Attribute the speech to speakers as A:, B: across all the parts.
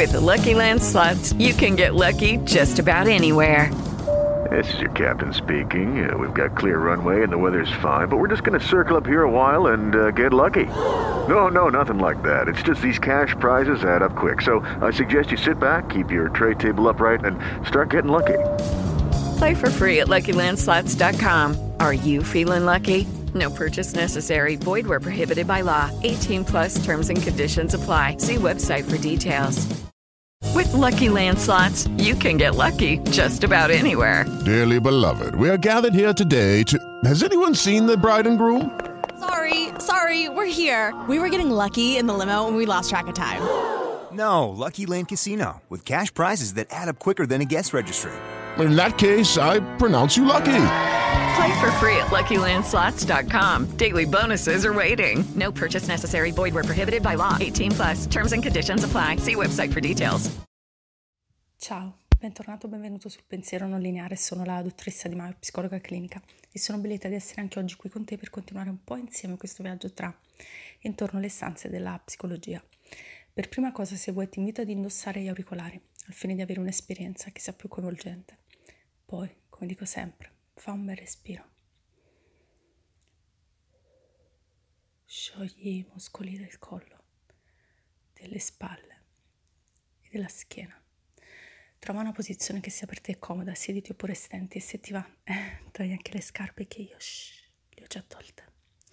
A: With Lucky Land Slots, you can get lucky just about anywhere.
B: This is your captain speaking. We've got clear runway and the weather's fine, but we're just going to circle up here a while and get lucky. No, nothing like that. It's just these cash prizes add up quick. So I suggest you sit back, keep your tray table upright, and start getting lucky.
A: Play for free at LuckyLandSlots.com. Are you feeling lucky? No purchase necessary. Void where prohibited by law. 18 plus terms and conditions apply. See website for details. With Lucky Land Slots, you can get lucky just about anywhere.
C: Dearly beloved, we are gathered here today to... Has anyone seen the bride and groom?
D: Sorry, we're here. We were getting lucky in the limo and we lost track of time.
E: No, Lucky Land Casino, with cash prizes that add up quicker than a guest registry.
C: In that case, I pronounce you lucky.
A: Play for free at LuckyLandSlots.com. Daily bonuses are waiting. No purchase necessary. Void where prohibited by law. 18 plus. Terms and conditions apply. See website for details.
F: Ciao, bentornato o benvenuto sul Pensiero Non Lineare. Sono la dottoressa Di Maio, psicologa clinica, e sono ben lieta di essere anche oggi qui con te per continuare un po' insieme questo viaggio tra e intorno alle stanze della psicologia. Per prima cosa, se vuoi, ti invito ad indossare gli auricolari al fine di avere un'esperienza che sia più coinvolgente. Poi, come dico sempre, fa un bel respiro. Sciogli i muscoli del collo, delle spalle e della schiena. Trova una posizione che sia per te comoda, siediti oppure stenti, e se ti va, togli anche le scarpe che io le ho già tolte.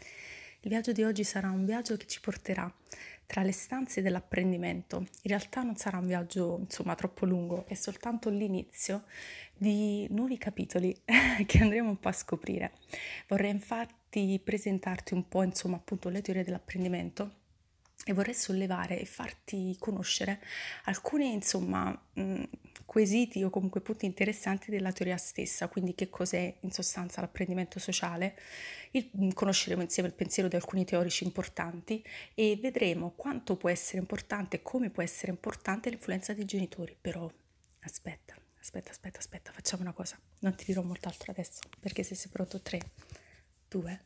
F: Il viaggio di oggi sarà un viaggio che ci porterà tra le stanze dell'apprendimento. In realtà non sarà un viaggio, troppo lungo, è soltanto l'inizio di nuovi capitoli che andremo un po' a scoprire. Vorrei infatti presentarti un po', appunto, le teorie dell'apprendimento, e vorrei sollevare e farti conoscere alcuni, quesiti o comunque punti interessanti della teoria stessa. Quindi che cos'è in sostanza l'apprendimento sociale, conosceremo insieme il pensiero di alcuni teorici importanti e vedremo quanto può essere importante e come può essere importante l'influenza dei genitori. Però aspetta, facciamo una cosa, non ti dirò molt'altro adesso, perché se sei pronto, 3, 2,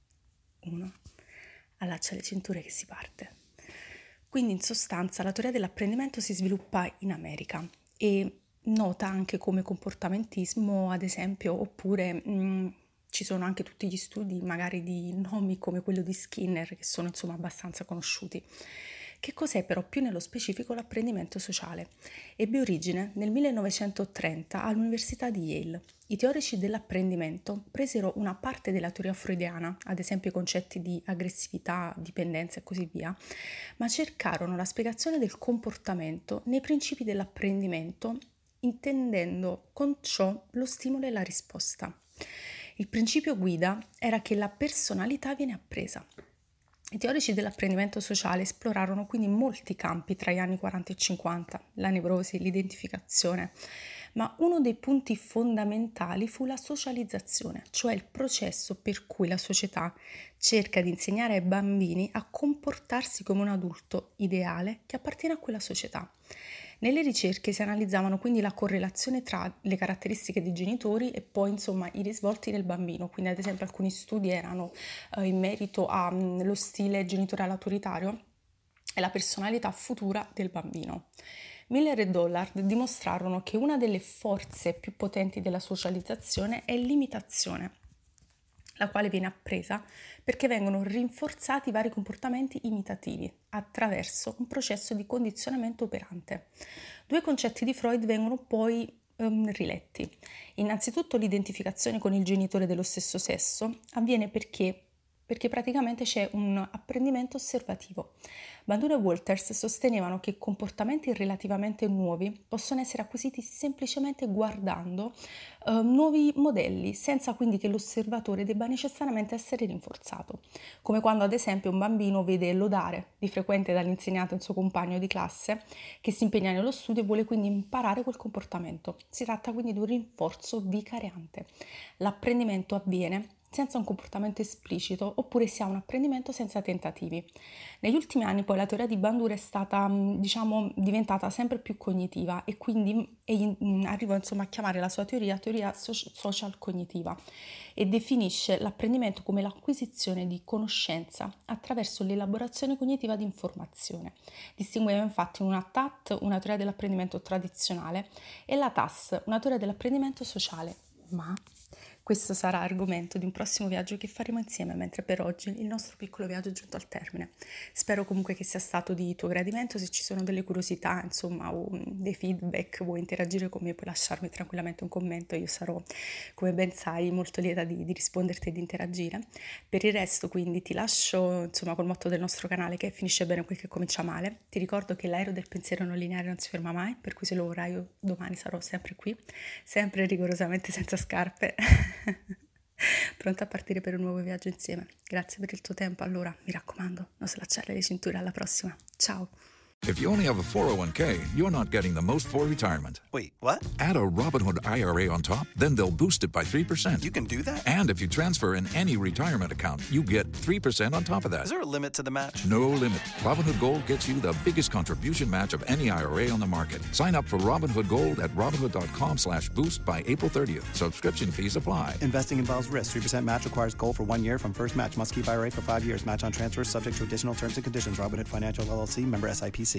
F: 1, allaccia le cinture che si parte. Quindi in sostanza la teoria dell'apprendimento si sviluppa in America e nota anche come comportamentismo, ad esempio, oppure ci sono anche tutti gli studi magari di nomi come quello di Skinner, che sono abbastanza conosciuti. Che cos'è però più nello specifico l'apprendimento sociale? Ebbe origine nel 1930 all'Università di Yale. I teorici dell'apprendimento presero una parte della teoria freudiana, ad esempio i concetti di aggressività, dipendenza e così via, ma cercarono la spiegazione del comportamento nei principi dell'apprendimento, intendendo con ciò lo stimolo e la risposta. Il principio guida era che la personalità viene appresa. I teorici dell'apprendimento sociale esplorarono quindi molti campi tra gli anni 40 e 50, la nevrosi, l'identificazione, ma uno dei punti fondamentali fu la socializzazione, cioè il processo per cui la società cerca di insegnare ai bambini a comportarsi come un adulto ideale che appartiene a quella società. Nelle ricerche si analizzavano quindi la correlazione tra le caratteristiche dei genitori e poi i risvolti del bambino. Quindi ad esempio alcuni studi erano in merito allo stile genitoriale autoritario e la personalità futura del bambino. Miller e Dollard dimostrarono che una delle forze più potenti della socializzazione è l'imitazione, la quale viene appresa perché vengono rinforzati vari comportamenti imitativi attraverso un processo di condizionamento operante. Due concetti di Freud vengono poi riletti. Innanzitutto l'identificazione con il genitore dello stesso sesso avviene perché praticamente c'è un apprendimento osservativo. Bandura e Walters sostenevano che comportamenti relativamente nuovi possono essere acquisiti semplicemente guardando nuovi modelli, senza quindi che l'osservatore debba necessariamente essere rinforzato. Come quando ad esempio un bambino vede lodare di frequente dall'insegnante un suo compagno di classe che si impegna nello studio e vuole quindi imparare quel comportamento. Si tratta quindi di un rinforzo vicariante. L'apprendimento avviene senza un comportamento esplicito, oppure si ha un apprendimento senza tentativi. Negli ultimi anni poi la teoria di Bandura è stata, diventata sempre più cognitiva e quindi arrivò a chiamare la sua teoria social cognitiva e definisce l'apprendimento come l'acquisizione di conoscenza attraverso l'elaborazione cognitiva di informazione. Distingueva infatti una TAT, una teoria dell'apprendimento tradizionale, e la TAS, una teoria dell'apprendimento sociale. Ma questo sarà argomento di un prossimo viaggio che faremo insieme, mentre per oggi il nostro piccolo viaggio è giunto al termine. Spero comunque che sia stato di tuo gradimento. Se ci sono delle curiosità, o dei feedback, vuoi interagire con me, puoi lasciarmi tranquillamente un commento. Io sarò, come ben sai, molto lieta di risponderti e di interagire. Per il resto, quindi, ti lascio col motto del nostro canale, che finisce bene quel che comincia male. Ti ricordo che l'aereo del pensiero non lineare non si ferma mai, per cui se lo vorrai io domani sarò sempre qui, sempre rigorosamente senza scarpe. Pronta a partire per un nuovo viaggio insieme. Grazie per il tuo tempo. Allora, mi raccomando, non slacciare le cinture. Alla prossima. Ciao.
G: If you only have a 401k, you're not getting the most for retirement.
E: Wait, what?
G: Add a Robinhood IRA on top, then they'll boost it by 3%.
E: You can do that?
G: And if you transfer in any retirement account, you get 3% on top of that.
E: Is there a limit to the match?
G: No limit. Robinhood Gold gets you the biggest contribution match of any IRA on the market. Sign up for Robinhood Gold at Robinhood.com/boost by April 30th. Subscription fees apply.
H: Investing involves risk. 3% match requires gold for 1 year from first match. Must keep IRA for 5 years. Match on transfers subject to additional terms and conditions. Robinhood Financial LLC, member SIPC.